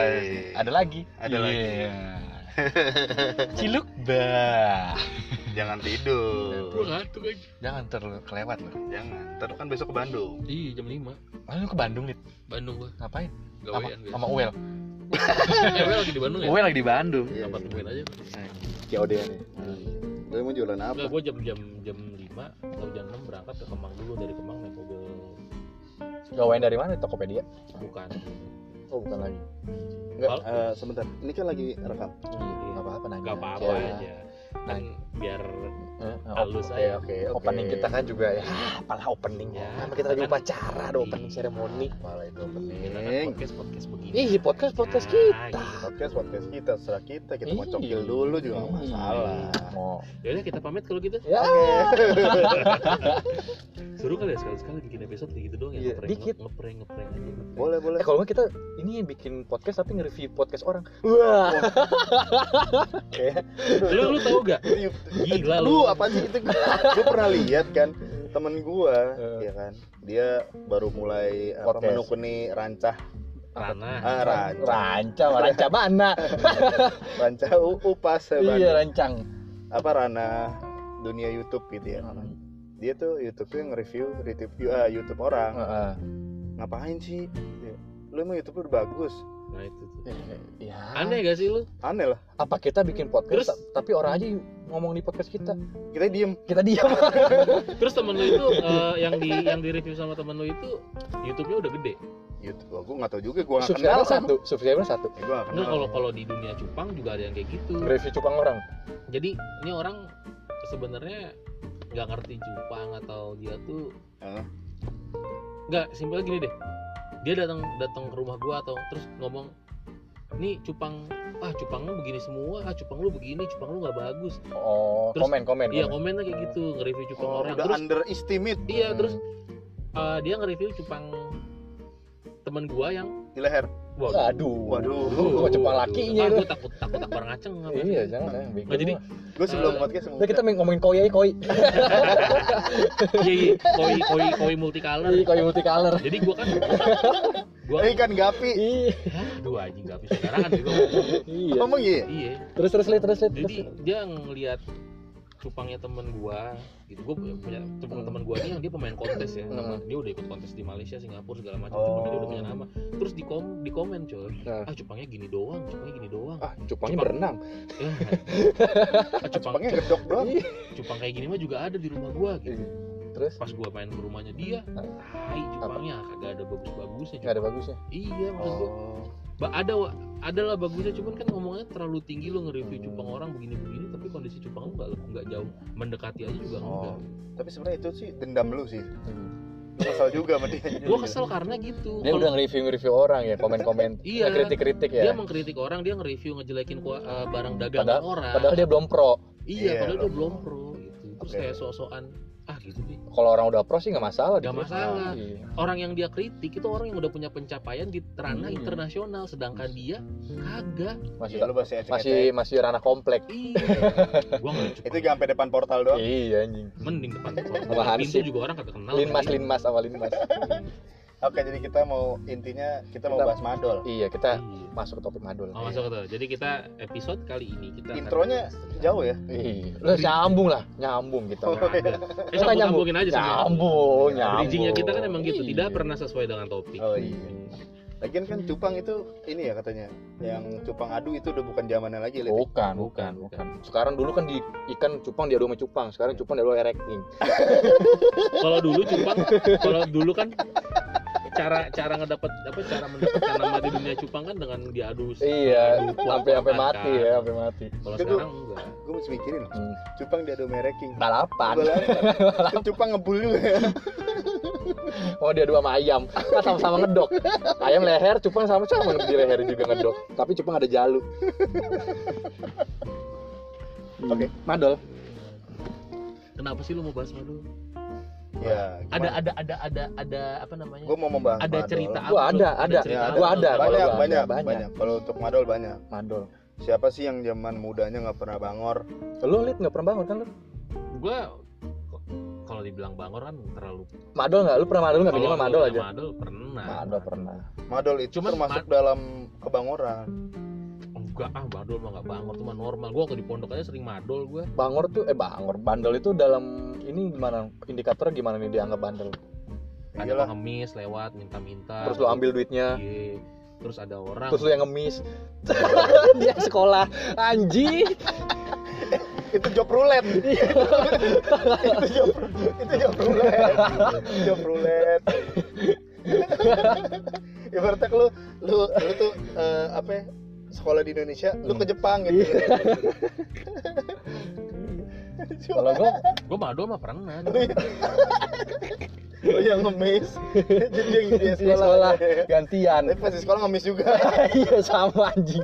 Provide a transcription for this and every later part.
Ada lagi. Ada lagi. Ciluk bah. Jangan tidur. Gue ngantuk aja. Jangan kelewat loh. Jangan. Ntar kan besok ke Bandung. Iya jam 5 Lu ke Bandung nih? Bandung gue. Ngapain? Gawean biasa. Sama Uel. Uel lagi di Bandung ya? Uel lagi di Bandung. Apa temuin aja? COD nih. Lu mau jualan apa? Enggak, gue jam 5 atau jam 6 berangkat ke Kemang dulu, dari Kemang naik mobil. Gawain dari mana? Tokopedia? Bukan. Oh, bukan lagi. Enggak, sebentar. Ini kan lagi rekam. Enggak apa-apa nanya. Enggak apa-apa aja. Kan biar halus aja. Oke. Opening kita kan juga ya. Apalah opening Ya, Nama kita lagi kan- upacara, ada opening seremoni. Malah itu Kita kan opening. podcast begini. Ih, podcast Ya, kita. gitu. Podcast kita, serah kita mau Ih. cokil dulu juga nggak masalah. Mau. Ya udah kita pamit kalau gitu. Ya. Seru kali ya sekali-sekali bikin episode kayak gitu doang ya. Iya, dikit. Ngeprank aja. Boleh. Kalau nggak kita ini bikin podcast tapi nge-review podcast orang. Wah. Lu tahu gak? Gila lu. Lu apa sih itu? Gue pernah lihat kan temen gua, ya kan. Dia baru mulai Podcast. menekuni rancah Rancang mana? rancah upas Iya, rancang. apa ranah dunia YouTube gitu ya. Dia tuh YouTube-nya nge-review YouTube orang. Ngapain sih? Lu emang YouTube udah bagus. Nah itu tuh. Ya. Aneh gak sih lu? Aneh lah. Apa kita bikin podcast Terus? tapi orang aja ngomong di podcast kita. Kita diem. Kita diam. Terus temen lu itu yang di review sama temen lu itu YouTube-nya udah gede. YouTube. Gua nggak tahu juga. Gua nggak kenal. Subscriber satu. Gua nggak kenal. Nah kalau di dunia cupang juga ada yang kayak gitu. Review cupang orang. Jadi ini orang sebenarnya nggak ngerti cupang atau dia tuh nggak, simpelnya gini deh. Dia datang ke rumah gua atau terus ngomong, nih cupang lu begini semua, cupang lu begini, cupang lu nggak bagus. Oh, Terus- komen. Iya komennya kayak gitu, nge-review cupang orang. Udah Terus underestimate iya terus dia nge-review cupang temen gua yang Waduh. Waduh. Kok cupang lakinya itu. Gua takut orang ngaceng apa. Iya, jangan. Nggak, jadi Gue sebelum podcast Udah kita ngomongin koi. iya koi multicolor. Iya, koi multicolor. Jadi gua ikan gapi. Iya. aduh anjing nggak bisa sekarang kan juga. Iya. Ngomong iya. Iya. Terus Jadi dia ngelihat cupangnya temen gua gitu. Gua punya temen gua nih yang dia pemain kontes ya. Dia udah ikut kontes di Malaysia, Singapura segala macam. Cupangnya dia udah punya nama. Terus di komen coy. Nah. Cupangnya gini doang. Cupangnya berenang. Ya. Cupangnya gedok doang. Cupang kayak gini mah juga ada di rumah gua gitu. Terus Pas gua main ke rumahnya dia, cupangnya kagak ada bagus-bagusnya. nggak ada bagusnya. Iya, maksud gua ada lah bagusnya, cuman kan ngomongnya terlalu tinggi lo nge-review cupang orang begini-begini, tapi kondisi cupang lu nggak jauh mendekati aja juga enggak. Tapi sebenarnya itu sih dendam lu sih. Lu kesal juga sama dia. Gua kesel karena gitu. Dia udah nge-review orang ya, komen-komen. Iya. Kritik-kritik ya. Dia mengkritik orang, dia nge-review ngejelekin barang dagangan orang. Padahal dia belum pro. Iya, padahal dia belum belum pro gitu. Terus Oke. kayak sok-sokan gitu deh. Kalau orang udah pro sih nggak masalah. Gak masalah. Iya. Orang yang dia kritik itu orang yang udah punya pencapaian di ranah internasional, sedangkan dia kagak. Masih Lu masih ecek-ecek. masih ranah komplek. Iya. Gua nggak cukup. Itu gak sampai depan portal doang. Iya anjing. Mending depan Sama pintu Hansip. juga orang kagak kenal. Linmas sama Linmas. Oke, jadi kita mau bahas madol. Iya, kita Iya. masuk ke topik madul. Oh, masuk ke tuh. Jadi kita episode kali ini kita Intronya jauh ya? Iya. Lu nyambung kita. sambung-sambungin aja semua. Nyambung. Bridging-nya kita kan emang gitu, Iya. tidak pernah sesuai dengan topik. Oh iya. Lagian kan cupang itu ini ya katanya. Yang cupang adu itu udah bukan zamannya lagi, Lid. Bukan. Sekarang dulu kan di ikan cupang diadu sama cupang, sekarang cupang diadu erecting. Kalau dulu kan cara mendapatkan nama di dunia cupang kan dengan diadu. Iya, adu sampai kuat-kuatan mati kan. ya, sampai mati. Kalau Itu- sekarang enggak. Gue mesti mikirin. Cupang diadu mereking. Balapan. Kan cupang ngebul juga ya. Oh, dia dua sama ayam. Kan sama-sama ngedok. Ayam leher, cupang sama di leher juga ngedok. Tapi cupang ada jalu. Oke. Madol. Kenapa sih lu mau bahas madu? Ya. Ada apa namanya? Gue mau membahas Ada madol. cerita Gua apa? ada. cerita Gua apa? ada. Kalau gua Banyak. banyak. Kalau untuk madol banyak. Madol. Siapa sih yang zaman mudanya nggak pernah bangor? Lu Lid enggak pernah bangun kan lu? Gua kalau dibilang bangor kan terlalu. Madol nggak? Lu pernah madol nggak? Minimal madol aja. Madol pernah. Madol pernah. Madol itu Cuman termasuk dalam kebangoran. Enggak madol mah nggak bangor, tuh mah normal. Gua waktu di pondok aja sering madol gua. Bangor tuh bangor. Bandel itu dalam ini gimana? Indikatornya gimana nih dianggap bandel? Ada pengemis lewat minta-minta. Terus lu ambil duitnya. Iya. Terus ada orang. Terus lu yang ngemis. Dia sekolah anjing. Itu job roulette. itu job roulette. Job roulette. Ibaratnya lu tuh apa ya, sekolah di Indonesia, lu ke Jepang gitu. Kalau gua madol mah pernah. Oh yang ngemis. Jadi yang di sekolah gantian. Tapi pas di sekolah ngemis juga. Iya sama anjing.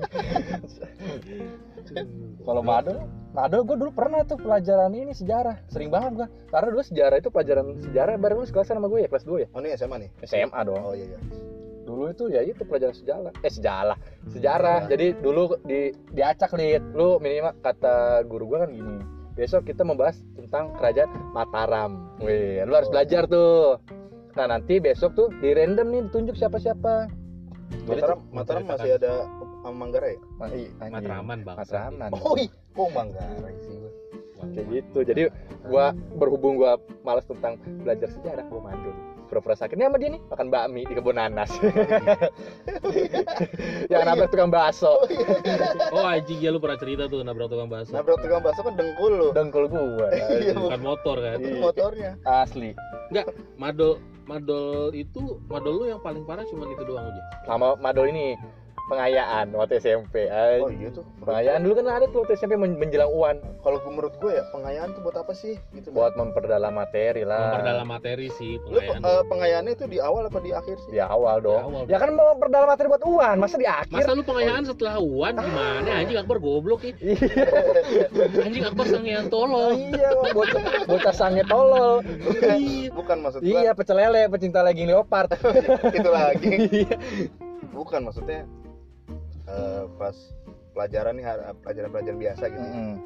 Kalau madol gue dulu pernah tuh pelajaran ini sejarah. Sering banget gue. Karena dulu sejarah itu pelajaran sejarah bareng lu sekelas sama gue ya, kelas 2 ya. Oh ini SMA nih? SMA dong. Oh iya. Dulu itu ya itu pelajaran sejarah. Jadi dulu diacak Lid. Lu minimal kata guru gue kan gini. Besok kita membahas tentang kerajaan Mataram. Wih, lu harus belajar tuh. Nah, nanti besok tuh di random nih ditunjuk siapa-siapa. Mataram masih ada Manggarai? Matraman bang. Matraman. Oh iya, kok Manggarai sih gue. Kayak gitu. Jadi gua berhubung gua malas tentang belajar sejarah, gua mandul. Pura-pura sakit nih sama dia nih makan bakmi di kebun nanas. Yang nabrak tukang bakso. Oh anjing ya, lu pernah cerita tuh nabrak tukang bakso. Nabrak tukang bakso kan dengkul lu. Dengkul gua. Iya, Bukan motor kan. Itu motornya. Asli. Enggak, madol lu yang paling parah cuma itu doang aja. Sama madol ini pengayaan waktu SMP. Oh iya tuh. Pengayaan dulu kan ada tuh waktu SMP menjelang UAN. Kalau menurut gue ya pengayaan tuh buat apa sih? Gitu. Buat memperdalam materi lah. Memperdalam materi sih pengayaan. Lu pengayaannya itu di awal apa di akhir sih? Di awal dong. Ya kan mau memperdalam materi buat UAN, masa di akhir? Masa lu pengayaan setelah UAN gimana? Anjing Akbar goblok ya. Anjing Akbar sangean tolol. Iya, bocah sange tolol. Bukan maksud gua. Iya, pecel lele, pecinta legging leopard. Itu lagi. Bukan maksudnya pas pelajaran nih, pelajaran biasa gitu.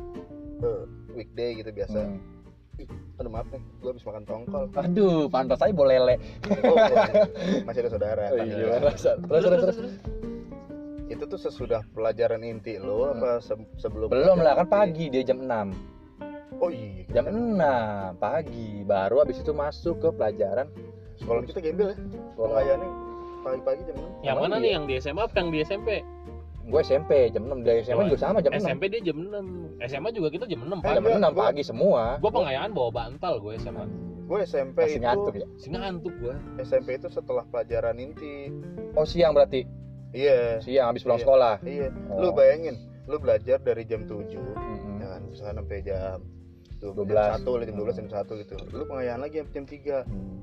Weekday gitu biasa. Aduh maaf nih, gue habis makan tongkol. Aduh, pantas aja bolele. Oh, masih ada saudara. Oh, iya, terus. Itu tuh sesudah pelajaran inti lo apa sebelum? Belum lah, kan pagi dia jam 6. Oh iya. Jam 6 pagi, baru habis itu masuk ke pelajaran. Sekolah kita gembel ya. Pengayaan pagi-pagi jam 6. Yang mana nih, yang di SMA apa yang di SMP? Gue SMP jam 6, dari SMA juga sama jam 6. SMP dia jam 6. SMA juga kita jam 6 pagi. Jam 6 pagi semua. Gue pengayaan bawa bantal gue SMA. Gue SMP masih itu ngantuk ya? Masih ngantuk gue. SMP itu setelah pelajaran inti. Oh siang berarti? Iya. Siang habis pulang sekolah? Iya. Lu bayangin, lu belajar dari jam 7 ya kan, misalnya sampai jam 12, jam 1 gitu. Lu pengayaan lagi jam 3.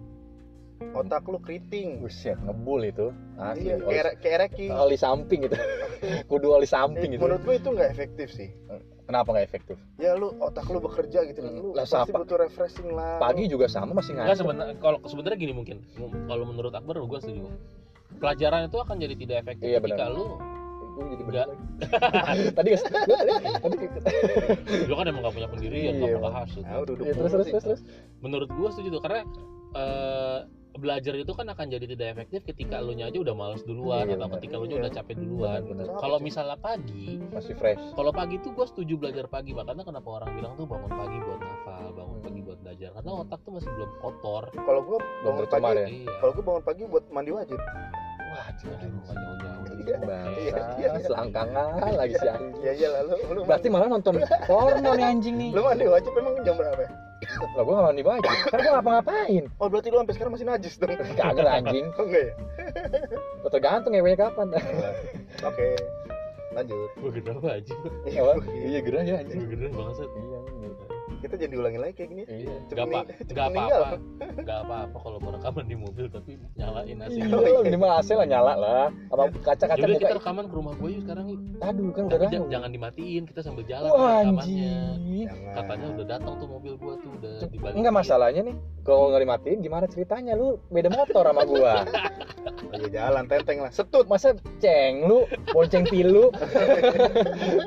Otak lu keriting. Buset, ngebul itu. Asli. Iya, kayak Reki. Oli samping gitu. Kudu oli samping gitu. Menurut gue itu nggak efektif sih. Kenapa nggak efektif? Ya lu otak lu bekerja gitu, lu pasti butuh refreshing lah. Pagi juga sama masih ngantuk. Enggak, sebenarnya gini mungkin. Kalau menurut Akbar gue setuju. Pelajaran itu akan jadi tidak efektif ketika lu jadi enggak. Tadi lu kan emang gak punya pendirian, gak pernah hasut. Terus. Menurut gue setuju tuh, karena belajar itu kan akan jadi tidak efektif ketika lu nya aja udah malas duluan, atau ketika lu nya udah capek duluan. Kalau misalnya pagi masih fresh. Kalau pagi tuh gue setuju belajar pagi, makanya kenapa orang bilang tuh bangun pagi buat hafal, bangun pagi buat belajar, karena otak tuh masih belum kotor. Kalau gue bangun pagi, kalau gue bangun pagi buat mandi wajib. Wah, jauh-jauh. Selangkangan lagi si anjing. Iya lalu. Berarti malah nonton porno nih anjing nih. Lu mandi wajib emang jam berapa? Lah gua enggak mandi wajib. Kan gua ngapa-ngapain. Oh, berarti lu sampai sekarang masih najis dong. Kagak anjing. Oh enggak ya? Tergantung ngewenya kapan. Oke. Lanjut. Gua gerah aja. Iya gerah ya anjing. Gua gerah banget. Iya. Kita jangan diulangin lagi kayak gini. Iya. Gak apa-apa kalau mau rekaman di mobil tapi nyalain AC. Iya, minimal AC lah nyala lah. Apa kaca-kaca buka. Kita rekaman ke rumah gue yuk sekarang yuk. Aduh, kan udah jangan dimatiin, kita sambil jalan rekamannya. Katanya udah datang tuh mobil gua tuh udah dibalik. Enggak masalahnya nih. Kalau nggak dimatiin gimana ceritanya, lu beda motor sama gua. Lagi jalan tenteng lah. Setut masa ceng lu, bonceng pilu.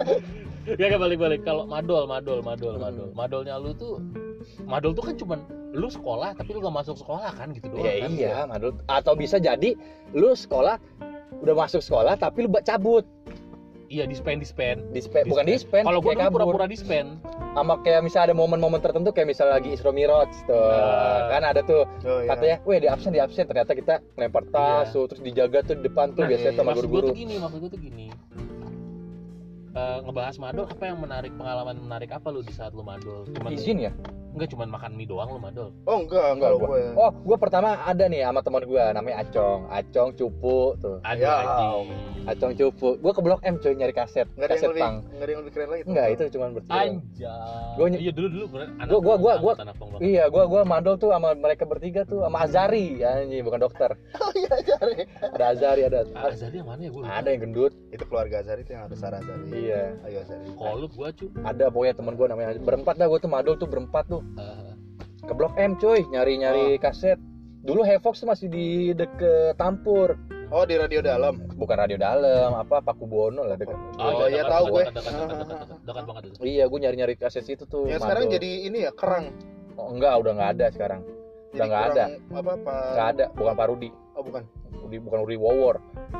Gak balik-balik. Kalau madolnya lu tuh, madol tuh kan cuman lu sekolah tapi lu gak masuk sekolah kan gitu doang Ya kan. iya, madul. Atau bisa jadi lu sekolah udah masuk sekolah tapi lu cabut. Iya, dispen. Bukan dispen. Kalau gua kayak dulu kabur. pura-pura dispen. Sama kayak misalnya ada momen-momen tertentu kayak misalnya lagi Isra Miraj tuh. Kan ada tuh Oh, iya. katanya, "Weh, di absen." Ternyata kita lempar tas tuh, terus dijaga tuh di depan tuh Nah, biasanya sama maksud gua guru-guru. tuh gini. Ngebahas madol, apa yang pengalaman menarik apa lu di saat lu madol? Izin ya? Enggak cuman makan mie doang lu madol. Oh enggak Enggak kalau gua. gue. Oh, gua pertama ada nih sama teman gua namanya Acong Cupu tuh. Aduh Ya, anjing. Acong Cupu. Gua ke Blok M coy nyari kaset, Enggak ada yang kaset lebih pang. enggak ada yang lebih keren lagi. Enggak, itu cuma bertiga. Anjay. Gua Iya dulu bener. Gua anak pang banget. Iya, gua mandol tuh sama mereka bertiga tuh sama Azari, anjing bukan dokter. Oh iya cari. Ada Azari ada. Azari yang mana ya gua lupa. Ada yang gendut. Itu keluarga Azari itu yang ada Sarah Azari. Iya. Ayo Azari. Kolut gua cu. Ada pokoknya teman gua namanya berempat dah, gua tuh mandol tuh berempat tuh. Ke Blok M coy, nyari kaset. Dulu Hevox tuh masih di deket Tampur. Oh di radio dalam. Bukan radio dalam, apa Pakubono lah deket. Oh, iya tahu gue. Dekat banget itu. Iya, gua nyari kaset situ tuh. Yang sekarang mandol. jadi ini ya kerang. Oh, enggak, udah enggak ada sekarang. Jadi Udah nggak ada. Apa Enggak ada, bukan Pak Rudi. Oh bukan. Bukan Rudi Wowor.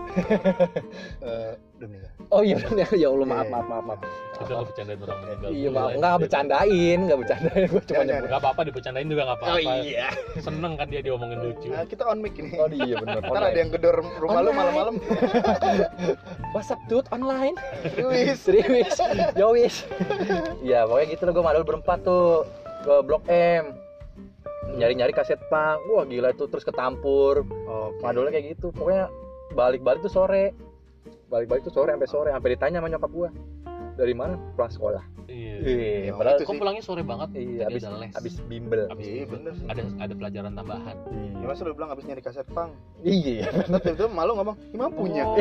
Udah meninggal. Oh iya, ya Allah maaf. Kita nggak bercandain orang meninggal. Iya, dulu maaf. lah. Enggak bercandain, gua cuma Jangan, nyebut. Nggak apa-apa dibercandain juga nggak apa-apa. Oh iya. Seneng kan dia diomongin lucu. Kita on mic ini. Oh iya benar. Ntar ada yang gedor rumah lu malam-malam. WhatsApp dude online. Wis. Serius. Yowis. Iya, pokoknya gitu lah, gua madul berempat tuh ke Blok M. Nyari-nyari kaset pang. Wah, gila itu, terus ke Tampur. Oke. Madulnya kayak gitu. Pokoknya balik-balik tuh sore. Sampai ditanya sama nyokap gua. Dari mana? Pulang sekolah. Iya. Padahal itu Kok sih. pulangnya sore banget? iya, Tadi abis ada les. abis bimbel. Abis Iya, itu bener sih. ada pelajaran tambahan. Ya masa lu bilang abis nyari kaset pang. Iya. Terus itu malu ngomong, "Imam punya." Oh,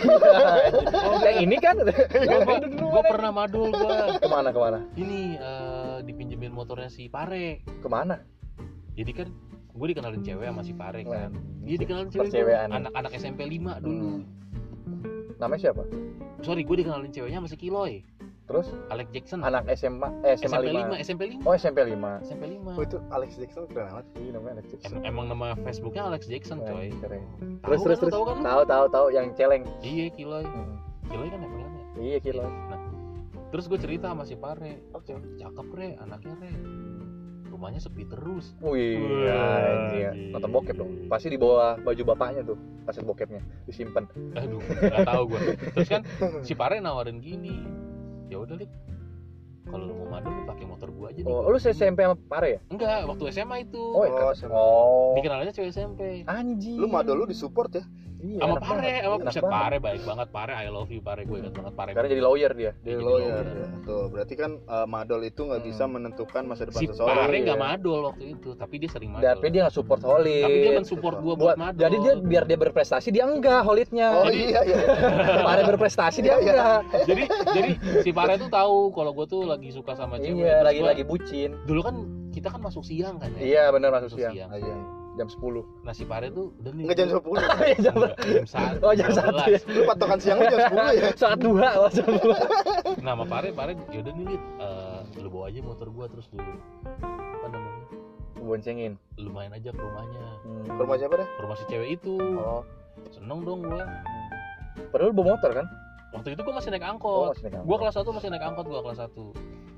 Yang ini kan. Gue pernah madul gue. Kemana? Ini dipinjemin motornya si Pare. Kemana? Jadi kan gue dikenalin cewek sama si Pare kan. Dia dikenalin cewek Percewean. anak SMP 5 dulu. Namanya siapa? Sorry, gue dikenalin ceweknya sama si Kiloy. Terus Alex Jackson. anak SMA SMP 5. Oh, SMP 5. SMP 5. Oh itu Alex Jackson keren banget. Iya, namanya Alex Jackson. Emang nama Facebooknya Alex Jackson coy. Keren. Tahu Terus. kan, tahu kan lu? Tahu yang celeng. Iya Kiloy. Kiloy kan emang ya. Iya, kilo. Nah, terus gue cerita sama si Pare. Oke. Cakep re, anaknya re. Rumahnya sepi terus. Wih, anjir. Nonton bokep dong. Pasti di bawah baju bapaknya tuh, kaset bokepnya disimpan. Aduh, nggak tahu gue. Terus kan si Pare nawarin gini. Ya udah Lik, kalau lu mau madul lu pakai motor gua aja nih. Oh, lu SMP sama Pare ya? Enggak, waktu SMA itu. Oh, SMA. Dikenalnya cewek SMP. Anjing. Lu madol lu disupport ya? Iya, Sama enak Pare, banget. sama Enak buset banget. Pare baik banget. Pare, I love you Pare, gue ingat banget Pare. Sekarang jadi lawyer dia. Dia jadi lawyer. lawyer. Ya. Tuh, berarti kan madol itu nggak bisa menentukan masa depan Si seseorang. Pare nggak iya. madol waktu itu, tapi dia sering madol. Tapi dia nggak support Holid. Tapi dia mensupport gua buat madol. Jadi dia biar dia berprestasi dia enggak Holidnya. Oh Jadi- iya iya. Pare berprestasi dia Iya, iya. enggak. jadi si Pare tuh tahu kalau gue tuh lagi suka sama cewek. Iya, Terus gua- lagi bucin. Dulu kan kita kan masuk siang kan ya. Iya, benar masuk Masuk siang. siang. Ah, iya. Jam 10. Nah si Pare tuh udah nih. Nggak jam 10. Jam Jam 1. Oh, jam 1 ya. Lu patokan siangnya jam 10 ya? Saat 2 oh, jam 2. Nah sama Pare yaudah nih Lid, lu bawa aja motor gua terus lu apa namanya, Boncengin. lu main aja ke rumahnya, Ke rumah siapa dah? ke rumah si cewek itu. Oh, Seneng dong gua. padahal lu bawa motor kan? Waktu itu gua masih naik Oh, angkot. masih naik Gua angkot. kelas 1 masih naik angkot, gua kelas 1.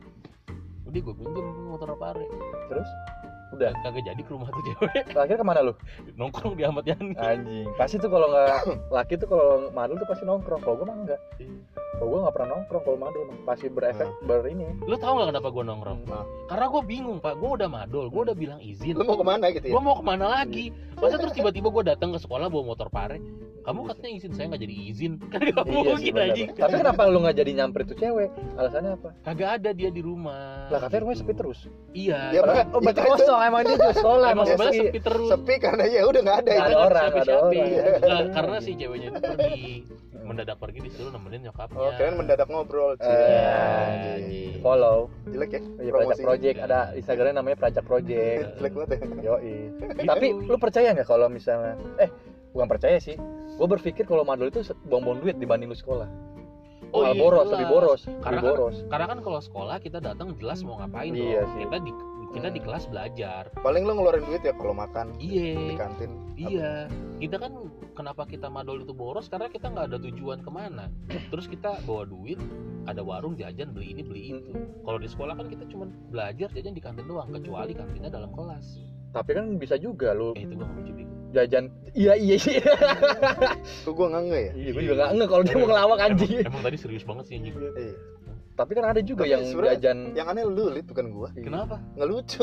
Udah gua pinjem motor Pare. Terus udah. Kagak jadi ke rumah tuh cewek. Akhirnya kemana lu? Nongkrong di Ahmad Yani. Anjing. Pasti tuh kalau nggak laki tuh kalau madul tuh pasti nongkrong. Kalau gua mah enggak. Kalau gua nggak pernah nongkrong kalau madul mah. Pasti berefek ini. Lu tahu nggak kenapa gua nongkrong? Nah. Karena gua bingung Pak, gua udah madol, gua udah bilang izin. Lu mau kemana gitu ya? Gua mau kemana lagi? Masa terus tiba-tiba gua datang ke sekolah bawa motor Pare. Kamu katanya izin, saya nggak jadi izin. Kan gak Iya sih, mungkin bener. anjing. Tapi kenapa lu nggak jadi nyamper itu cewek? Alasannya apa? Kagak ada dia di rumah. Lah katanya rumahnya gitu. sepi terus. Iya. Ya, Padahal- Bang. oh, berarti Itu- kosong emang dia tuh sekolah Emang emang sebenarnya sepi. sepi terus. Sepi karena ya udah nggak ada. Nggak ya. ada orang, nggak ada Siapa-siapa. orang. Nah, karena si ceweknya itu pergi, mendadak pergi disuruh nemenin nyokapnya. Oh, keren mendadak ngobrol. anjing. Follow. Jelek ya? Iya, Prajak Project, ada Instagramnya namanya Prajak Project. Jelek banget ya. Yoi. Tapi lu percaya nggak kalau misalnya bukan percaya sih. Gue berpikir kalau madul itu buang-buang duit dibanding lu sekolah. Oh, Malah iya, boros, jelas. lebih boros, Karena lebih boros. Karena kan kalau sekolah kita datang jelas mau ngapain Iya dong. sih. Kita kita di kelas belajar. Paling lo ngeluarin duit ya kalau makan di Iya, kantin. iya. Kita kan kenapa kita madol itu boros karena kita nggak ada tujuan kemana. Terus kita bawa duit, ada warung jajan beli ini beli itu. Kalau di sekolah kan kita cuma belajar jajan di kantin doang, kecuali kantinnya dalam kelas. Tapi kan bisa juga lu Itu gua nggak lucu bingung. jajan. Iya. Kok gue nggak ya? Iya, gue juga nggak nge kalau dia mau ngelawak anjing. Emang tadi serius banget sih anjing. Iya. Tapi kan ada juga Tapi yang sebenarnya jajan. Yang aneh lu Lid, bukan gue. Kenapa? Nggak lucu.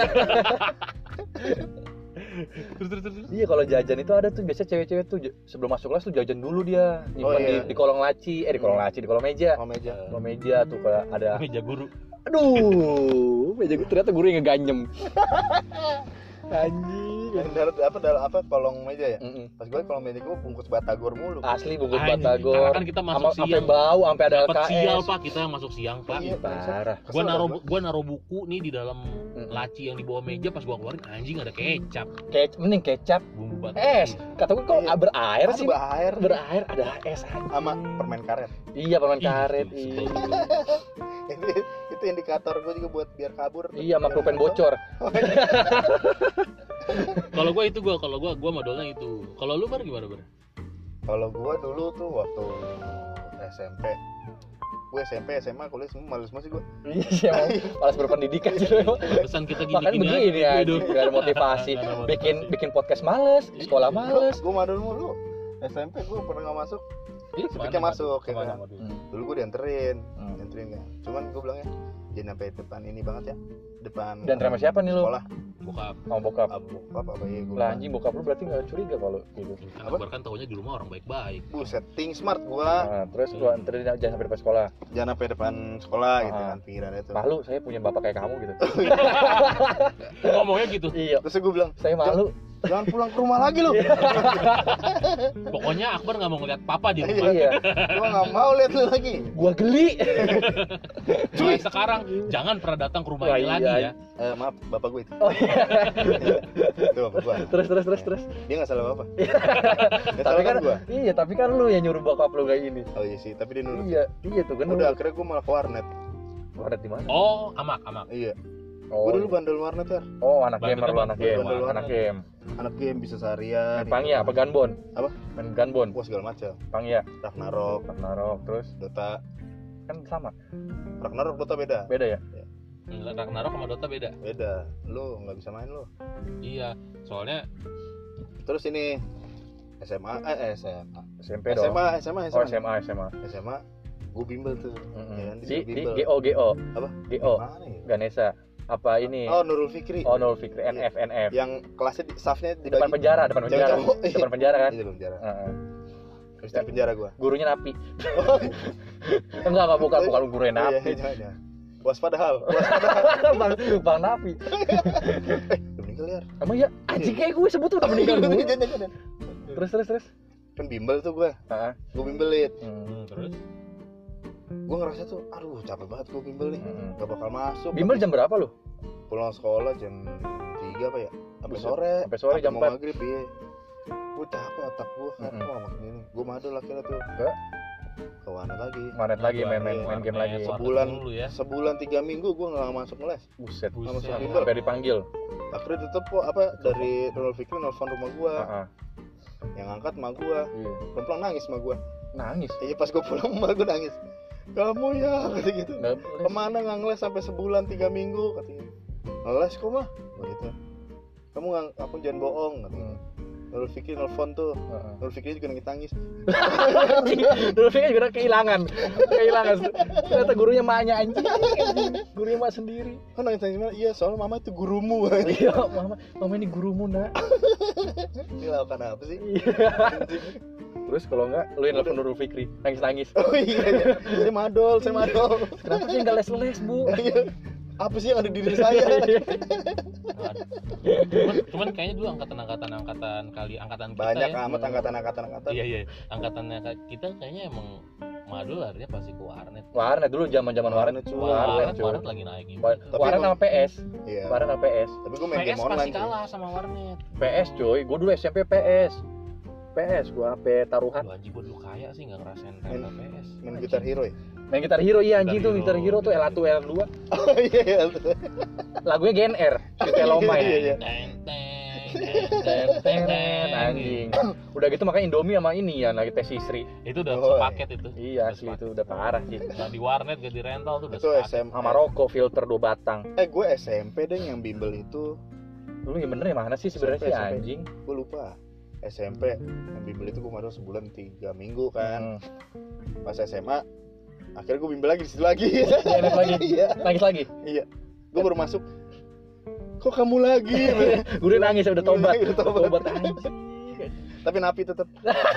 Terus. Iya, kalau jajan itu ada tuh biasanya cewek-cewek tuh sebelum masuk kelas tuh jajan dulu dia. Nyimpan iya. di kolong laci, di kolong laci, di kolong meja. Oh meja. Kolong meja tuh kalau ada. Meja guru. Aduh, meja gue ternyata guru yang ngeganyem. Anjing. Dalam apa kolong meja ya? Mm-mm. Pas gue kolong meja gue bungkus batagor mulu. Asli bungkus Anjing, batagor. karena kan kita masuk Sampai siang. bau, sampai ada Dapat LKS. sial Pak, kita yang masuk siang Pak. Iya, Parah. Gua naruh buku nih di dalam laci yang di bawah meja, pas gua keluarin anjing ada kecap, Mending kecap. bumbu batu. Es. Kata gue kok Iya. berair sih. Air Berair ada es anjing. sama permen karet. Iya, permen Ih, karet. sebel Iya. banget. Itu indikator gue juga buat biar kabur. Iya, sama pulpen bocor. Kalau gua modalnya itu. Kalau lu Bar gimana Bar? Kalau gue dulu tuh waktu SMP, gue SMP, SMA, kuliah semua malu semua sih gue. Iya, malas berpendidikan sih lu. Pesan kita Makanya gini-gini begini ya, Aduh. gak ada motivasi. Nggak ada motivasi. Bikin podcast males, sekolah males. Gue madul mulu. SMP gue pernah nggak masuk. Ih, Sepiknya kemana, masuk, ya kemana, kan? Madu? Dulu gue dianterin kan. Cuman gue bilangnya jangan sampai depan ini banget ya. Depan. Dan sama siapa nih lu? Sekolah. Bokap. Sama bokap. Apa ya gue. Lah anjing, bokap lu berarti gak curiga kalau gitu. Karena Bar kan taunya di rumah orang baik-baik. Buset, think smart gua. Nah, terus gua anterin jangan sampai depan sekolah. Jangan sampai depan sekolah gitu Ah. kan pikirannya tuh. Malu, saya punya bapak kayak kamu gitu. Ngomongnya gitu. Iya, Terus gue bilang, saya malu. jangan pulang ke rumah lagi lu. Pokoknya Akbar nggak mau ngeliat papa di rumah. Iya, Gua nggak mau lihat lu lagi. gua geli. Mulai sekarang jangan pernah datang ke rumah Wah, ini iya. lagi ya. Maaf, bapak gue itu. Oh iya. Itu bapak gua. Terus. Dia nggak salah apa. Tapi kan gua. iya, tapi kan lu yang nyuruh bokap lu kayak gini. Oh iya sih, tapi dia nurut. Iya tuh kan. Udah akhirnya gua malah ke warnet. Ada di mana? Oh, amak. Iya. Oh, Gua dulu bandel warnet ya. oh, anak gamer lu, Bandel anak game, bandel anak game. Anak game bisa seharian. Main Pangya apa Gunbon? Apa? Main Gunbon. Wah segala macam. Pangya, Ragnarok, terus Dota. kan sama. Ragnarok Dota beda. Beda ya? Ragnarok sama Dota beda. Beda. Lu nggak bisa main lu. Iya, soalnya Terus ini SMA. SMP dong. SMA. Oh, SMA. SMA. Gue bimbel tuh. Ya kan, Di bimbel. GO. Apa? GO. Mana ya? Ganesha. Apa ini? Oh, Nurul Fikri. Oh, Nol Fikri, NF. Yang kelasnya staffnya Di depan dibagi. penjara. Cowok. Depan penjara kan? Iya, depan penjara. Heeh. Terus di penjara gua. Gurunya napi. Enggak bukan gurunya napi. Iya, jangan. Waspadahal. Bang napi. Udah meninggal ya. Emang ya? Anjing kayak gue sebut udah meninggal dulu. Jangan. Terus. Kan bimbel tuh gua. Heeh. Gua bimbelin. terus Gua ngerasa tuh, aduh capek banget gua bimbel nih. Gak bakal masuk. Bimbel jam berapa lu? Pulang sekolah jam 3 apa ya? Sampai Buset. sore. Sampai sore jam mau 4. maghrib iya. Gua capek otak gua kan. Wah makin ini. Gua madul akhirnya tuh. Ke warnet lagi. Manet lagi main game lagi. Sebulan. dulu ya. Sebulan 3 minggu gua nggak masuk les. Buset. Buset. Sampai dipanggil. Akhirnya tetep kok apa dari Nurul Fikri nelfon rumah gua. Heeh. Yang angkat emak gua. Iya. Pelan-pelan nangis emak gua. Nangis. Iya pas gua pulang emak gua nangis. Kamu ya kata gitu. Nggak Kemana nggak ngeles sampai sebulan 3 minggu katanya. Ngeles kok mah begitu. Kamu nggak, aku jangan bohong katanya. Nurul Fikri nelfon tuh. Nurul Fikri juga nangis. Dulu kan juga kehilangan. Ternyata gurunya maknya anjing. Gurunya mak sendiri. Oh nangis gimana? Iya soalnya mama itu gurumu. Iya, mama ini gurumu, Nak. Ini lakukan apa sih? Terus kalau enggak lu yang nelfon Nurul Fikri, nangis. Oh iya. Saya madol. Kenapa sih enggak les-les, Bu? Apa sih yang ada di diri saya? cuman kayaknya dulu angkatan kita Banyak ya. amat angkatan. Iya. Angkatannya kita kayaknya emang madul larinya pasti ke warnet. Warnet dulu zaman-zaman warnet. Warnet lagi naik gitu. Warnet sama PS. Iya. Warnet sama PS. Tapi gue main PS game pasti online sih. kalah sama warnet. PS coy, gue dulu SMP PS. PS gua HP taruhan. Lu anjing gua dulu kaya sih enggak ngerasain rela PS. Main Guitar Hero ya? Main Gitar Hero, iya anjing tuh Gitar Gitar Hero tuh L1 L2. Oh iya. Lagunya GNR, Sweet Lomai. Iya. Anjing. Udah gitu makanya Indomie sama ini ya lagi tes Sri. Itu udah Oh, sepaket itu. Iya asli itu udah parah sih. Nah, di warnet gak di rental tuh udah Itu sepaket. SMP. Sama rokok filter 2 batang. Gue SMP deh yang bimbel itu. Lu yang bener ya mana sih sebenarnya sih SMP. anjing? Gue lupa. SMP yang bimbel itu gue masuk sebulan 3 minggu kan. Pas SMA akhirnya gue bimbel lagi di situ lagi. Nangis lagi. Iya. Nangis lagi. Iya. Gue baru masuk. Kok kamu lagi? Gue udah nangis udah tobat. Udah tobat. Anjing. Tapi napi tetap.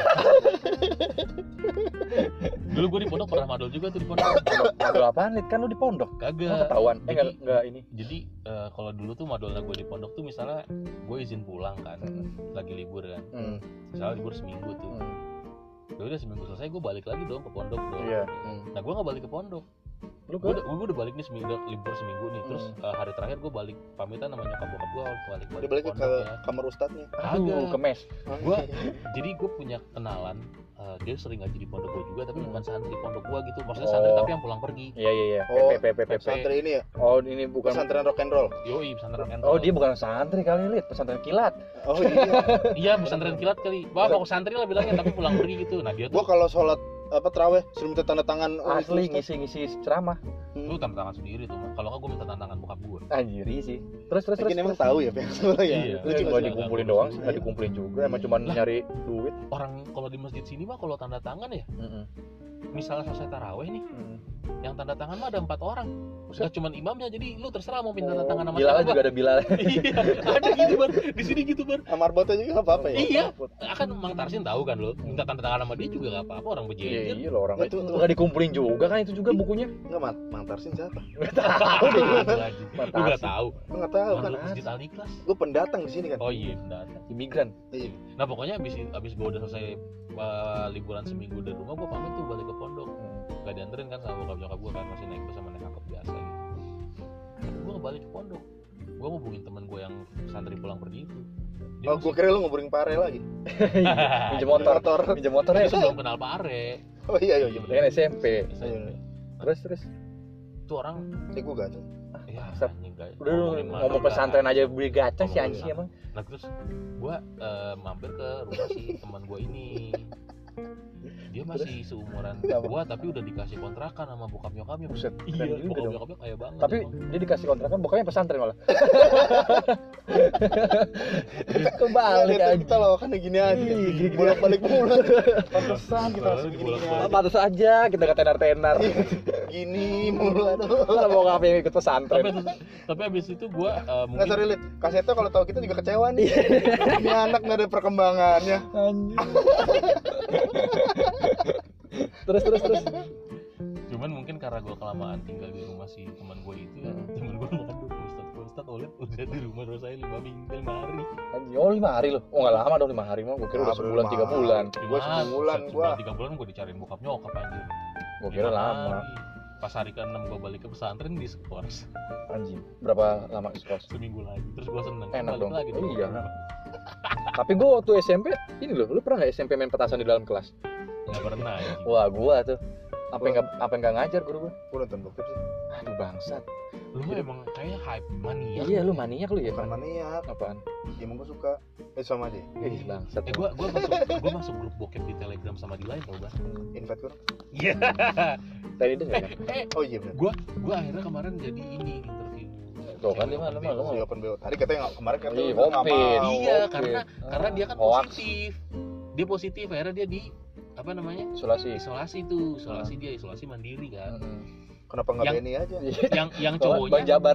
Dulu gue di pondok pernah madol juga tuh di pondok. Madol apaan Lid? Kan lu di pondok. Kagak. Ketahuan. Jadi- Enggak ini. Jadi kalau dulu tuh madolnya gue di pondok tuh misalnya gue izin pulang kan, lagi libur kan. Misalnya libur seminggu tuh. Ya udah seminggu selesai gue balik lagi dong ke pondok dong. Iya. Nah gue nggak balik ke pondok. Lu Gue udah balik nih seminggu libur seminggu nih. Terus hari terakhir gue balik pamitan sama nyokap bokap gue Dia balik ke pondok ya. kamar ustadznya. Aduh, Kagak. ke mes. Jadi gue punya kenalan, dia sering ngaji di pondok gue juga, tapi bukan santri pondok gue gitu. Maksudnya Oh. santri tapi yang pulang pergi. Iya. Oh, PP. Santri ini ya? Oh, ini bukan. Pesantren rock and roll. Yoi, pesantren kan. Oh, dia bukan santri kali Lid, pesantren kilat. Oh iya. Iya, pesantren kilat kali. Wah, pokok santri lah bilangnya, tapi pulang pergi gitu. Nah dia Gua tuh kalau sholat terawih suruh minta tanda tangan Asli Ustadz. ngisi ceramah. lu tanda tangan sendiri tuh. Kalau nggak gue minta tanda tangan bokap gue. Anjir sih. Terus. Mungkin emang tahu ya pihak sebelah ya. Iya. Lu cuma dikumpulin doang sih, nggak dikumpulin juga. Emang cuma nyari duit. Orang kalau di masjid sini mah kalau tanda tangan ya, misalnya selesai taraweh nih, yang tanda tangan mah ada 4 orang. Nggak cuma imamnya, jadi lu terserah mau pindah tanda tangan sama Bilal siapa. juga ada Bilal. Iya, ada gitu bar. Di sini gitu bar. Amar Boto juga nggak apa-apa ya. Iya, akan Mang Tarsin tahu kan lo, minta tanda tangan sama dia juga nggak apa-apa, orang berjejer. Iya loh orang Nah, itu tuh. nggak dikumpulin juga kan itu juga bukunya. Nggak Mang Tarsin siapa? Nggak tahu deh. Lu nggak tahu? Gua nggak tahu kan. Orang masjid Al Ikhlas. Gue pendatang di sini kan. Oh iya, benar. Imigran. Iya. Nah pokoknya abis gue udah selesai liburan seminggu dari rumah, gue pamit tuh balik ke pondok. Gak dianterin kan sama bokap nyokap gue kan, masih naik bus sama naik angkot biasa gitu. Gue balik ke pondok, gue ngubungin temen gue yang santri pulang pergi itu. Oh, gue kira lu ngobrolin Pare lagi. Minjem motor. Minjem motornya Dia sebelum kenal Pare. Oh iya. kan SMP. Iya. Terus. Itu orang, Gue gacor. ya Sep. anjing gak. Udah lu ngomong pesantren aja beli gacha sih anjing emang. Nah terus gue mampir ke rumah si teman gue ini. Dia masih seumuran gue tapi udah dikasih kontrakan sama bokap nyokapnya. Buset, Iya, keren juga bokap dong. nyokapnya kaya banget. Tapi emang. dia dikasih kontrakan bokapnya pesantren malah. Kebalik Lihat aja. kita lawakannya gini aja. Gini-gini. Bolak-balik mulu. Pantesan kita harus gini Pantes aja kita gak tenar-tenar. Gini mulu. Aduh. Kalau bokapnya yang ikut pesantren. Tapi abis itu gue Nggak mungkin sorry Lid, kasetnya kalau tahu kita juga kecewa nih. Ini anak nggak ada perkembangannya. Anjing. Terus. cuman mungkin karena gue kelamaan tinggal di rumah si teman gue itu ya, teman gue ngadu Ustaz Oled udah di rumah saya 5 hari. Anjing, oh 5 hari loh. Oh enggak lama dong 5 hari mah. Gua kira udah sebulan 3 bulan. Gua sebulan, gua. 3 bulan gue dicariin bokap nyokap anjir. Gua kira 5 lama. hari. Pas hari ke-6 gue balik ke pesantren di skors Anjing. Berapa lama skos? seminggu lagi. Terus gue seneng. Enak balik dong. lagi di Iya. rumah. Tapi gua waktu SMP ini loh, lu pernah enggak SMP main petasan di dalam kelas? Nggak pernah anjing. Wah, gua tuh apa yang enggak ngajar guru gua. Gua nonton bokep sih. Aduh bangsat. Lu mah emang kayak hype mania. Iya, lu maniak lu ya. Bukan maniak. Apaan? Ya emang gua suka. Sama aja. Ih, bangsat. Gue masuk grup bokep di Telegram sama di lain tau gak? Invite gua. Iya. Tadi dengar kan? Oh iya benar. Gue akhirnya kemarin jadi ini interview. Tuh kan, cewek dia mah, open lu mah. BO. Si open BO. Tadi katanya nggak kemarin kan Iya, lu nggak Covid. mau. Iya, Oke. karena dia kan Hoax. positif. Dia positif, akhirnya dia di apa namanya? Isolasi. Isolasi mandiri kan. Kenapa nggak Yang- Benny aja? Yang Bang cowoknya Jabar.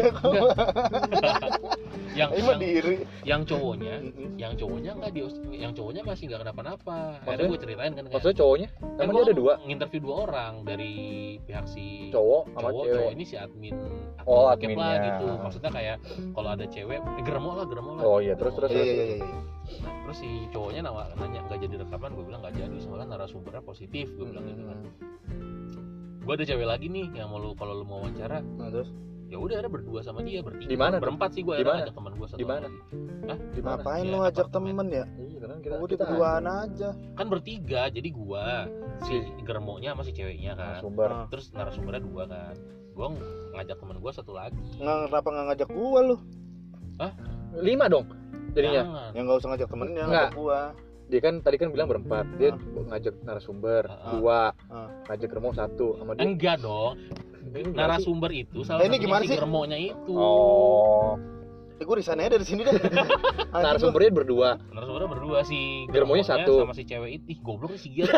Ini mah diri. yang cowoknya enggak yang cowoknya masih nggak kenapa-napa. Akhirnya gue ceritain kan. Maksudnya cowoknya? kan Emang gue dia ada 2? nginterview 2 orang dari pihak si Cowok sama cewek. cowok ini si admin Oh, bokep lah adminnya. gitu. Maksudnya kayak kalau ada cewek geremo lah. Oh iya, terus. Iya. Nah, terus si cowoknya nanya nggak jadi rekaman, gue bilang nggak jadi soalnya narasumbernya positif, gue bilang gitu kan. Gue ada cewek lagi nih yang mau kalau lu mau wawancara, Nah, terus ya udah ada berdua sama dia, bertiga. Di mana tuh? Berempat sih gue Di mana? ajak teman gue satu Di mana? lagi. Hah? Di mana? ngapain Iya, lu ajak apartemen. temen ya? Iya, Karena kita Udah berduaan aja. Kan bertiga, jadi gua, si germonya sama si ceweknya kan. Sumber. Terus narasumbernya 2 kan. Gua ngajak temen gua 1 lagi. Kenapa nggak ngajak gua lu? 5 dong jadinya. Jangan. Ya nggak usah ngajak temennya, Nggak. ngajak gua. Dia kan tadi kan bilang berempat. Dia ngajak narasumber 2, ngajak Remo 1 sama dia. Enggak dong. Ini Narasumber itu salah ini satunya gimana si sih? germonya itu. Oh. Gue resign aja dari sini deh. Narasumbernya berdua. Narasumbernya berdua, si Germonya satu. sama si cewek itu. Ih, goblok nih si Giar.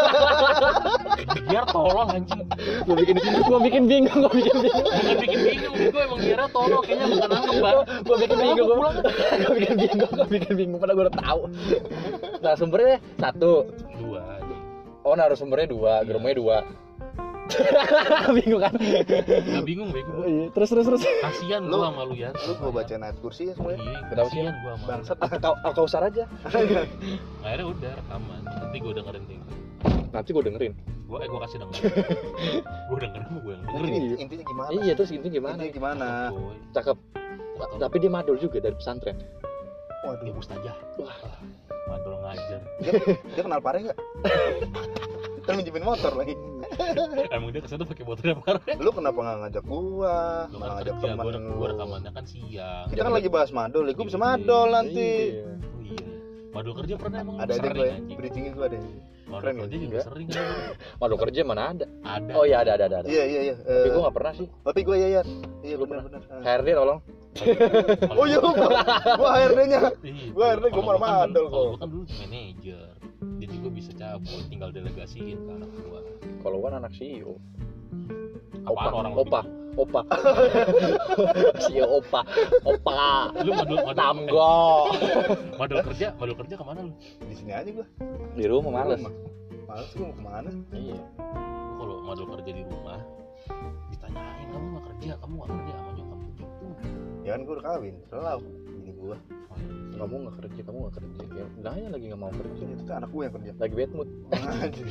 Giar tolong anjing. Gua bikin bingung. Bukan bikin bingung, gue emang Giarnya tolong, kayaknya bukan nangkep, Bang. Gua bikin bingung padahal gua udah tahu. Narasumbernya 1. 2 anjing. Oh, narasumbernya 2, Germonya 2. Bingung kan? Enggak bingung, bego. Iya, terus. Kasihan Lu- gua sama lu ya. Lu gua bacain ayat kursi ya semuanya. Iya, Kenapa sih? kasihan gua sama. Bangsat. Kau usar aja. Akhirnya udah rekaman. Nanti gua dengerin deh. Nanti gua dengerin. Gua kasih denger. Gua dengerin sama gua yang dengerin. Iya. Intinya gimana? Iya, terus intinya gimana? Intinya gimana? Coy. Cakep. Tapi dia madul juga dari pesantren. Ya Waduh. Ustazah. Wah. Madol ngajar. Dia kenal Pare nggak? Kan minjemin motor lagi. Emang dia kesana pakai motornya parah. Lu kenapa nggak ngajak gua? Lu Nggak kan ngajak kerja, teman gua lu. rekamannya kan siang. Kita kan lagi bahas madol, ya gua bisa madol nanti. Iya. Oh iya. Madol kerja pernah emang Ada aja sering gue, anjing. bridgingnya gua ada. Madol keren kerja ya? juga Enggak. sering kan. Madul kerja mana ada? Ada. Oh iya ada. Iya. Tapi gua nggak pernah sih. Tapi gua ya. Iya Lu benar. HRD tolong. Oh iya, gua HRD-nya. Iya, Gua akhirnya gua kalau malah kan madol dulu- kalau kok. gua kan dulu manajer. Jadi gua bisa cabut, tinggal delegasiin ke anak gua. Kalau gua anak CEO. Apaan orang Opa. CEO Opa. Lu madul Tamgo. madul kerja kemana lu? Di sini aja gua. Di rumah males. Males gua mau kemana? Iya. Gua kalau madul kerja di rumah ditanyain kamu nggak kerja sama nyokap gitu. Ya kan gua udah kawin, selalu ini gua. Kamu nggak kerja. Ya, bilangnya lagi nggak mau kerja. Itu tuh anak gua yang kerja. Lagi bad mood. Anjir.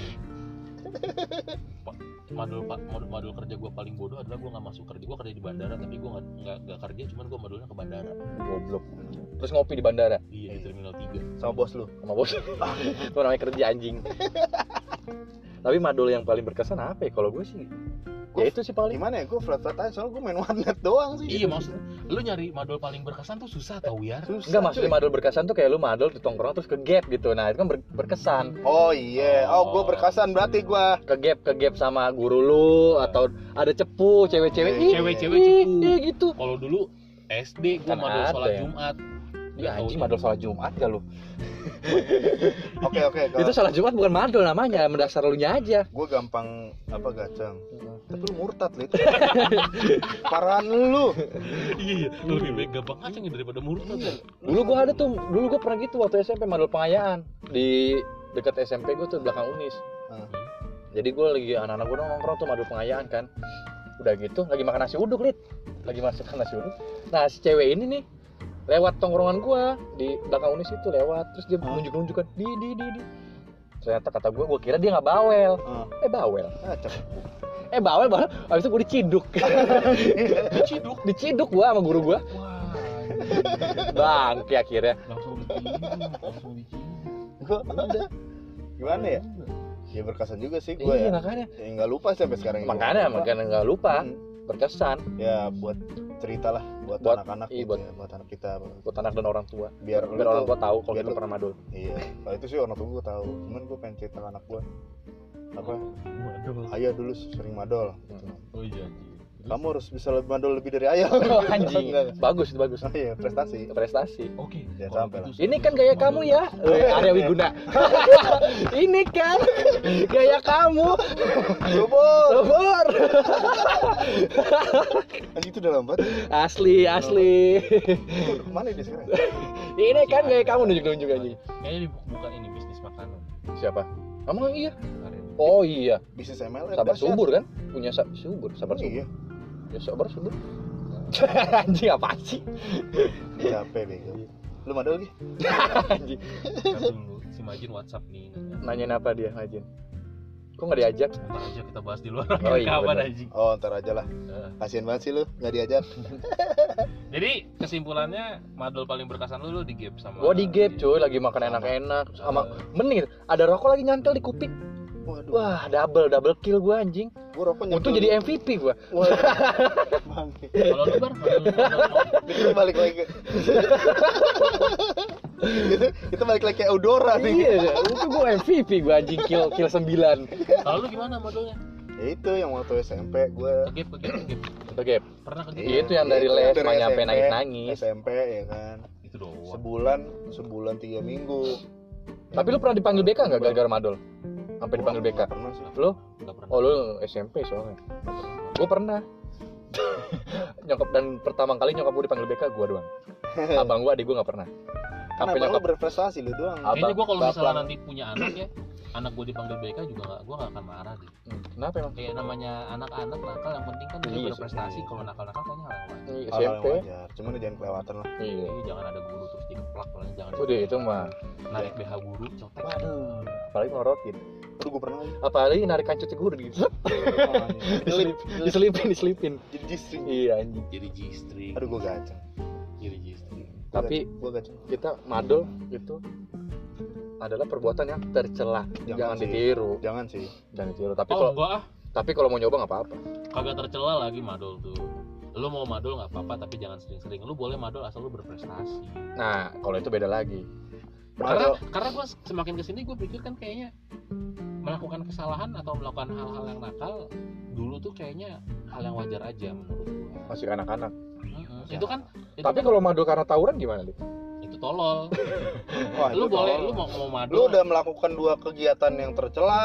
Madul kerja gue paling bodoh adalah gue nggak masuk kerja. Gue kerja di bandara tapi gue nggak kerja, cuman gue madulnya ke bandara. Goblok. Terus ngopi di bandara Iya, di terminal 3. Sama bos lu. sama bos. Itu namanya kerja anjing. Tapi madul yang paling berkesan apa ya? Kalau gue sih ya itu sih paling. Gimana ya? Gua flat aja soalnya gua main warnet doang sih. Iya, maksudnya lu nyari madul paling berkesan tuh susah tau ya. Susah, Enggak, maksudnya cuy. madul berkesan tuh kayak lu madul di tongkrong terus ke gap gitu. Nah, itu kan berkesan. Oh iya, gua berkesan berarti gua. Ke gap sama guru lu atau ada cepu cewek-cewek. Ih, Cewek-cewek ih, cepu. ih, gitu. Kalau dulu SD gue Kan madul ada sholat ya. Jumat. Ya Nggak anjing tahu madul sholat Jumat gak lu? Oke. Itu sholat Jumat bukan madul namanya, mendasar lu nya aja. Gua gampang gacang. Tapi lu murtad Lid. Parahan lu. Iya, lebih baik gampang ngaceng daripada murtad ya. Dulu gua pernah gitu waktu SMP madul pengayaan di dekat SMP gua tuh belakang Unis. Jadi gua lagi anak-anak gua nongkrong tuh madul pengayaan kan. Udah gitu lagi makan nasi uduk, Lid. Lagi makan nasi uduk. Nah, si cewek ini nih lewat tongkrongan gua di belakang Unis itu lewat, terus dia nunjuk-nunjukkan di. Ternyata kata gua kira dia nggak bawel. Bawel. Bawel. Habis itu gua diciduk. Diciduk gua sama guru gua. Bangke akhirnya. Langsung diciduk. Gua gimana ya? Ya berkesan juga sih gua Iya, ya. makanya. Ya nggak lupa sampai sekarang. Makanya nggak lupa. Berkesan Ya buat cerita lah buat Buat- anak-anak iya, gitu ya, buat anak kita. buat anak dan orang tua. Biar Biar orang tua tahu kalau biar kita lu- pernah madul. Iya, kalau itu sih orang tua gue tahu. Cuman gue pengen cerita ke anak gue apa? Madul. Ayah dulu sering madol. Oh iya anjing. Kamu harus bisa lebih madol lebih dari ayah. Oh, anjing. Enggak. Bagus itu bagus. Oh iya, prestasi. Prestasi. Oke. Ya, kalau sampai gitu Ini kan gaya kamu ya, Arya Wiguna. Ini kan gaya kamu, Subur. Subur. Anjing itu udah lambat. Asli. Kemana dia sekarang? Ini kan gaya kamu nunjuk anjing. Kayaknya dibuka ini bisnis makanan. Siapa? Emang iya? Kemarin. Oh iya, Bisnis MLM. Sabar dahsyat. Subur kan? Punya Subur, Sabar Oh, Subur. iya. Ya Sabar Subur. Anjing apa sih? Capek bego. Lu madol lagi? Anjing. Ntar dulu si Majin WhatsApp nih. Nanyain apa dia, Majin? Kok nggak diajak? Ntar aja kita bahas di luar. Oh, iya, Kapan bener. anjing? Oh, ntar aja lah. Kasian banget sih lu nggak diajak. Jadi kesimpulannya madol paling berkesan lu di gap sama. Gua di gap cuy, lagi makan enak-enak sama mending ada rokok lagi nyantel di kuping. Waduh. Wah, double kill gua anjing. Gua rokok Untung jadi MVP gua. Waduh. Bang. Kalau lu bar, Kita balik lagi ke kita balik lagi kayak Eudora nih. Iya, untung gua MVP gua anjing kill 9. kalau lu gimana madolnya? Ya itu yang waktu SMP gue Ke gap. Itu gap. Pernah ke gap? Iya, itu yang dari les dari mah nyampe SMP, nangis-nangis. SMP ya kan. Itu doang. Sebulan 3 minggu. Tapi lu pernah dipanggil BK enggak gara-gara madol? Sampai dipanggil BK. Nggak pernah sih. Lu? Enggak pernah. Oh, lu SMP soalnya. Gua pernah. Nyokap dan pertama kali nyokap gua dipanggil BK gua doang. Abang gua, adik gua enggak pernah. Kenapa Sampai lu nyokap berprestasi lu doang? Kayaknya gue kalau misalnya Bapak. nanti punya anak ya, anak gue dipanggil BK juga gue nggak akan marah deh. Kenapa emang? Kayak namanya anak-anak nakal, yang penting kan dia Iya, berprestasi. Kalau nakal-nakal kayaknya hal yang wajar. Hal yang SMP. wajar. Cuman jangan kelewatan lah. Iya. Jadi jangan ada guru terus dikeplak, paling jangan Udah itu mah. narik BH guru, cotek. Waduh, apalagi ngelorotin. Aduh gue pernah lagi. Apalagi narik kancut guru gitu. Diselipin. Jadi jistri. Iya anjing. Jadi G-string. Aduh gue gacang. Jadi G-string. Tapi gue gacang. kita madol itu adalah perbuatan yang tercela. Jangan sih. ditiru. Jangan sih. Jangan ditiru. Tapi Oh kalau enggak ah, tapi kalau mau nyoba nggak apa-apa. kagak tercela lagi madol tuh. Lu mau madol nggak apa-apa, tapi jangan sering-sering. Lu boleh madol asal lu berprestasi. Nah, kalau itu beda lagi. Karena gue semakin kesini gue pikir kan kayaknya melakukan kesalahan atau melakukan hal-hal yang nakal dulu tuh kayaknya hal yang wajar aja menurut gue. Masih anak-anak. Itu kan Tapi kalau madol karena tawuran gimana, Li? itu tolol. Wah, Lu itu boleh, tolol. lu mau madol. Lu udah melakukan 2 kegiatan yang tercela.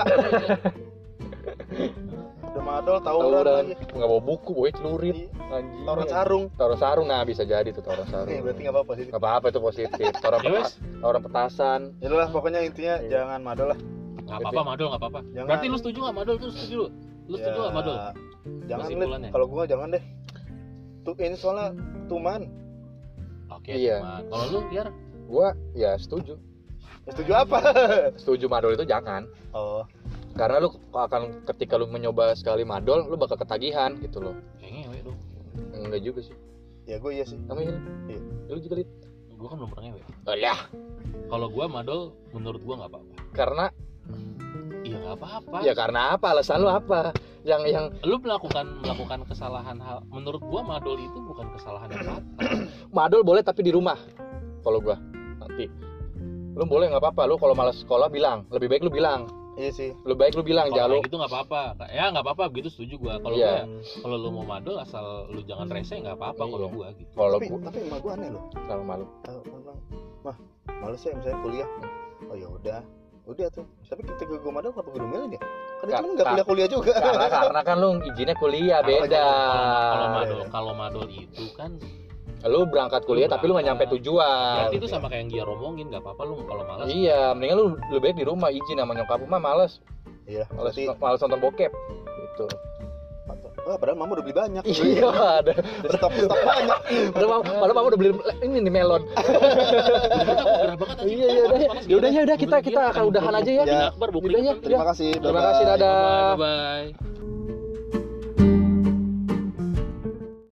Udah madol, tawuran lagi. Nggak bawa buku, bawa celurit. Iya. Anjing. Tawuran sarung. Tawuran sarung, nah bisa jadi tuh tawuran sarung. Berarti enggak apa-apa sih. Nggak apa-apa itu positif. Ya wes, Tawuran petasan. Ya lu lah pokoknya intinya Iya. jangan madol lah. nggak apa-apa madol, nggak apa-apa. Jangan. Berarti lu setuju nggak madol? Tuh setuju lu? Lu setuju nggak madol? Jangan Kesimpulannya? deh. Kalau gua jangan deh. Tuh ini soalnya tuman. Oke, Iya. cuman. Kalau lu biar Gua ya setuju. Ya, setuju apa? Setuju madol itu jangan. Oh, Karena lu akan ketika lu mencoba sekali madol, lu bakal ketagihan gitu loh. kayak ngewe dong. Enggak juga sih. ya gua iya sih. Kamu ini? Iya. Lu juga Lid? Gua kan belum pernah ngewe. Alah, Kalau gua madol, menurut gua nggak apa-apa. karena Iya nggak apa-apa. ya karena apa? Alasan lu apa? Yang Lu melakukan kesalahan hal. Menurut gua madol itu bukan kesalahan yang fatal. madol boleh tapi di rumah. Kalau gua nanti lu boleh nggak apa-apa. Lu kalau malas sekolah bilang, lebih baik lu bilang. Iya sih. Lebih baik lu bilang Kalau jangan lu. kayak gitu nggak apa-apa. Ya nggak apa-apa, begitu setuju gua. Kalau Iya. gua, kalau lu mau madol asal lu jangan rese nggak apa-apa kalau Iya. gua gitu. Kalau Tapi emak gua aneh loh. kalau malu. Bilang, mah, males ya misalnya kuliah. Oh ya udah tuh. Tapi ketika gua madol kenapa gua domelin ya? Kan dia cuma nggak kuliah juga. Karena kan lu izinnya kuliah beda. Kalau madol itu kan Lu berangkat kuliah tapi lu nggak nyampe tujuan. berarti itu sama kayak yang dia romongin, nggak apa-apa lu kalau malas. Iya, mendingan lu lebih baik di rumah izin sama nyokap lu mah males. Iya. Males, Berarti. males nonton bokep gitu. Wah, padahal mama udah beli banyak. Iya, ada. Stok banyak. Padahal mama udah beli ini nih melon. Gerah banget anjing. Iya, udah. Ya udah kita akan udahan aja ya. Ya. Akbar Udah ya. Terima kasih. Terima kasih, dadah. Bye bye.